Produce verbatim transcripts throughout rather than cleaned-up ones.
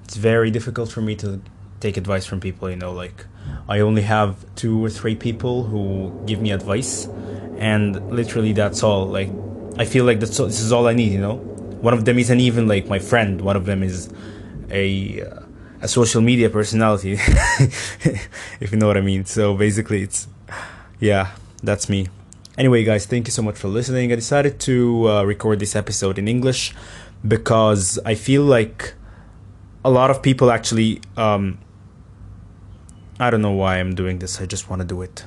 it's very difficult for me to take advice from people, you know, like I only have two or three people who give me advice, and literally that's all. Like I feel like that's all, this is all I need, you know. One of them isn't even like my friend. One of them is a uh, a social media personality, if you know what I mean. So basically it's, yeah, that's me. Anyway, guys, thank you so much for listening. I decided to uh, record this episode in English because I feel like a lot of people actually, um, I don't know why I'm doing this. I just want to do it.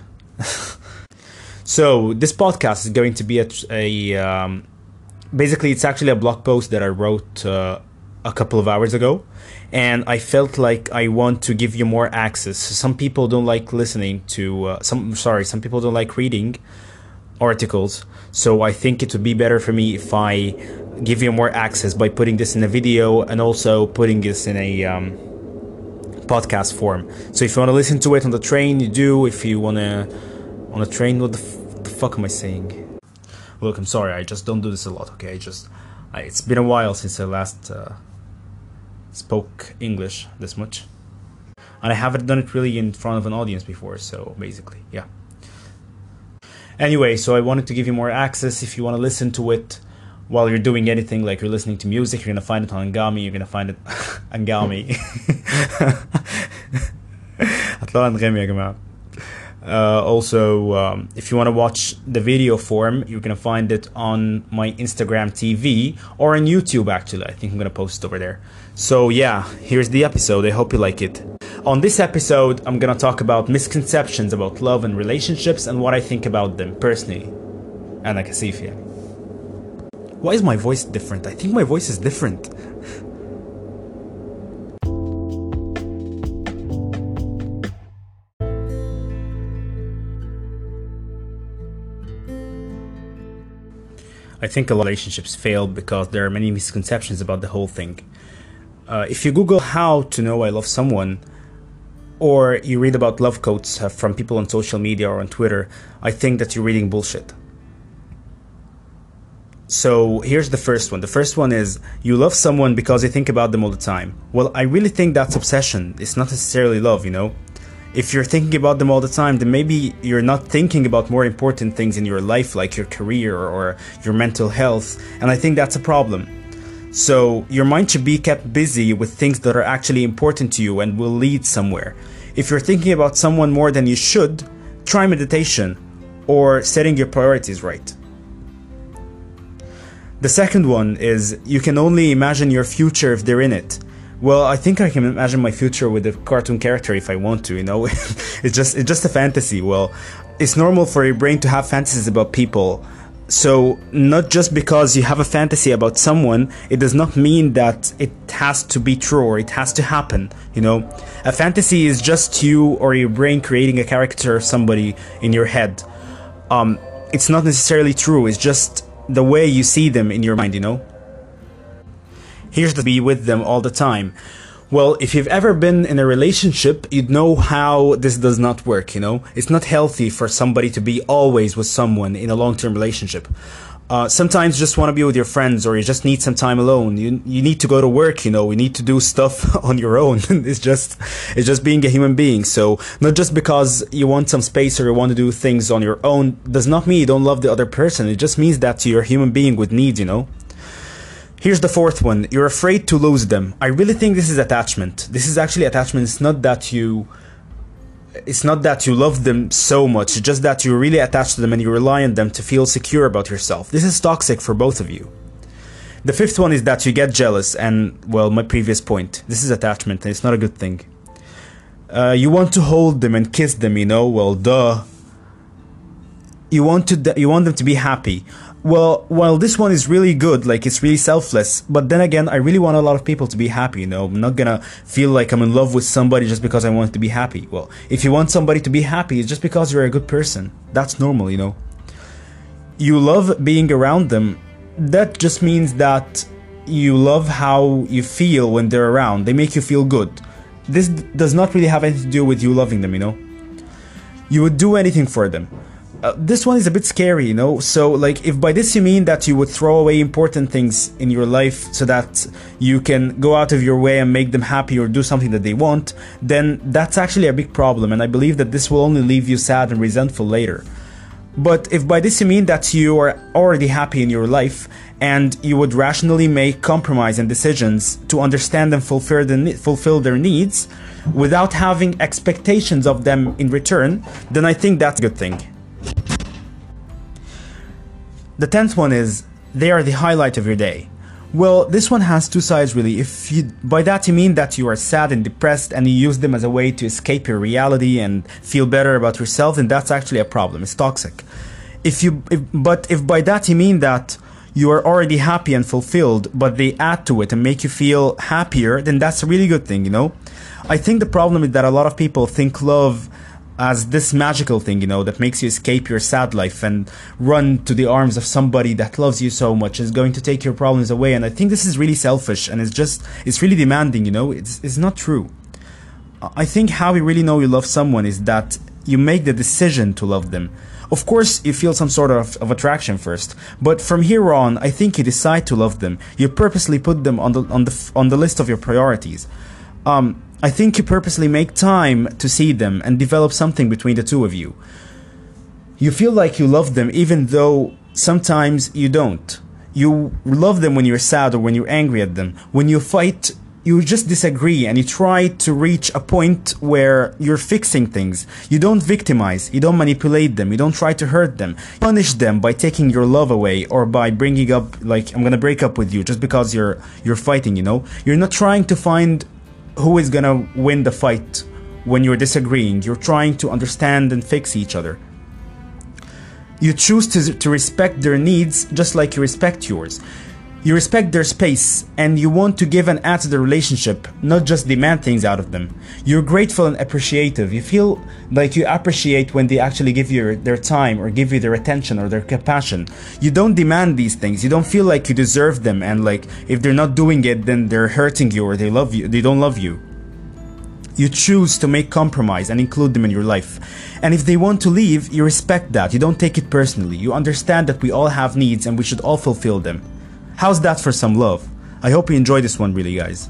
So this podcast is going to be a, a um, basically it's actually a blog post that I wrote uh, a couple of hours ago, and I felt like I want to give you more access. Some people don't like listening to uh, some sorry some people don't like reading articles, so I think it would be better for me if I give you more access by putting this in a video and also putting this in a um, podcast form. So if you want to listen to it on the train, you do. If you want to on a train, what the, f- the fuck am I saying? Look, I'm sorry, I just don't do this a lot, okay? I just I, it's been a while since I last uh, spoke English this much, and I haven't done it really in front of an audience before, so basically, yeah. Anyway, so I wanted to give you more access. If you want to listen to it while you're doing anything, like you're listening to music, you're going to find it on Angami, you're going to find it Angami. Uh, also, um, if you want to watch the video form, you're going to find it on my Instagram T V or on YouTube, actually. I think I'm going to post it over there. So yeah, here's the episode. I hope you like it. On this episode, I'm going to talk about misconceptions about love and relationships and what I think about them personally. أنا كسيف يعني. Why is my voice different? I think my voice is different. I think a lot of relationships fail because there are many misconceptions about the whole thing. Uh, if you Google how to know I love someone, or you read about love quotes uh, from people on social media or on Twitter, I think that you're reading bullshit. So here's the first one. The first one is, you love someone because you think about them all the time. Well, I really think that's obsession. It's not necessarily love, you know? If you're thinking about them all the time, then maybe you're not thinking about more important things in your life, like your career or your mental health, and I think that's a problem. So your mind should be kept busy with things that are actually important to you and will lead somewhere. If you're thinking about someone more than you should, try meditation or setting your priorities right. The second one is, you can only imagine your future if they're in it. Well, I think I can imagine my future with a cartoon character if I want to, you know. It's just it's just a fantasy. Well, it's normal for your brain to have fantasies about people. So not just because you have a fantasy about someone, it does not mean that it has to be true or it has to happen, you know. A fantasy is just you or your brain creating a character of somebody in your head. Um, it's not necessarily true. It's just the way you see them in your mind, you know. Here's to be with them all the time. Well, if you've ever been in a relationship, you'd know how this does not work, you know? It's not healthy for somebody to be always with someone in a long-term relationship. Uh, sometimes you just want to be with your friends, or you just need some time alone. You you need to go to work, you know, you need to do stuff on your own. It's just it's just being a human being. So not just because you want some space or you want to do things on your own does not mean you don't love the other person. It just means that you're a human being with needs, you know? Here's the fourth one. You're afraid to lose them. I really think this is attachment. This is actually attachment. It's not that you it's not that you love them so much. It's just that you're really attached to them and you rely on them to feel secure about yourself. This is toxic for both of you. The fifth one is that you get jealous, and, well, my previous point. This is attachment and it's not a good thing. Uh, you want to hold them and kiss them, you know? Well, duh. You want to you want them to be happy. Well, while this one is really good, like it's really selfless, but then again, I really want a lot of people to be happy, you know? I'm not gonna feel like I'm in love with somebody just because I want to be happy. Well, if you want somebody to be happy, it's just because you're a good person. That's normal, you know? You love being around them. That just means that you love how you feel when they're around. They make you feel good. This does not really have anything to do with you loving them, you know? You would do anything for them. uh, this one is a bit scary, you know. So like, if by this you mean that you would throw away important things in your life so that you can go out of your way and make them happy or do something that they want, then that's actually a big problem, and I believe that this will only leave you sad and resentful later. But if by this you mean that you are already happy in your life and you would rationally make compromise and decisions to understand and fulfill, the, fulfill their needs without having expectations of them in return, then I think that's a good thing. The tenth one is, they are the highlight of your day. Well, this one has two sides really. If you, by that you mean that you are sad and depressed and you use them as a way to escape your reality and feel better about yourself, then that's actually a problem. It's toxic. If you, if, but if by that you mean that you are already happy and fulfilled, but they add to it and make you feel happier, then that's a really good thing, you know? I think the problem is that a lot of people think love as this magical thing, you know, that makes you escape your sad life and run to the arms of somebody that loves you so much, is going to take your problems away. And I think this is really selfish, and it's just, it's really demanding, you know, it's, it's not true. I think how you really know you love someone is that you make the decision to love them. Of course, you feel some sort of, of attraction first, but from here on, I think you decide to love them. You purposely put them on the, on the, on the list of your priorities. Um, I think you purposely make time to see them and develop something between the two of you. You feel like you love them even though sometimes you don't. You love them when you're sad or when you're angry at them. When you fight, you just disagree and you try to reach a point where you're fixing things. You don't victimize, you don't manipulate them, you don't try to hurt them. You punish them by taking your love away or by bringing up, like, I'm gonna break up with you just because you're you're fighting, you know? You're not trying to find who is gonna win the fight when you're disagreeing. You're trying to understand and fix each other. You choose to, to respect their needs just like you respect yours. You respect their space and you want to give and add to the relationship, not just demand things out of them. You're grateful and appreciative. You feel like you appreciate when they actually give you their time or give you their attention or their compassion. You don't demand these things. You don't feel like you deserve them, and like if they're not doing it, then they're hurting you or they love you. They don't love you. You choose to make compromise and include them in your life. And if they want to leave, you respect that. You don't take it personally. You understand that we all have needs and we should all fulfill them. How's that for some love? I hope you enjoyed this one really, guys.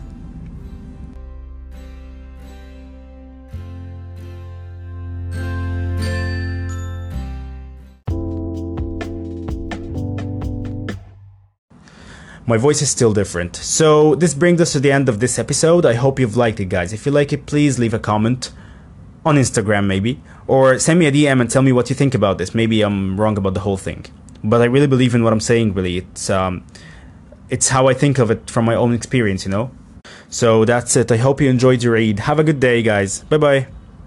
My voice is still different. So this brings us to the end of this episode. I hope you've liked it, guys. If you like it, please leave a comment on Instagram maybe, or send me a D M and tell me what you think about this. Maybe I'm wrong about the whole thing, but I really believe in what I'm saying, really. It's um It's how I think of it from my own experience, you know? So that's it. I hope you enjoyed your read. Have a good day, guys. Bye-bye.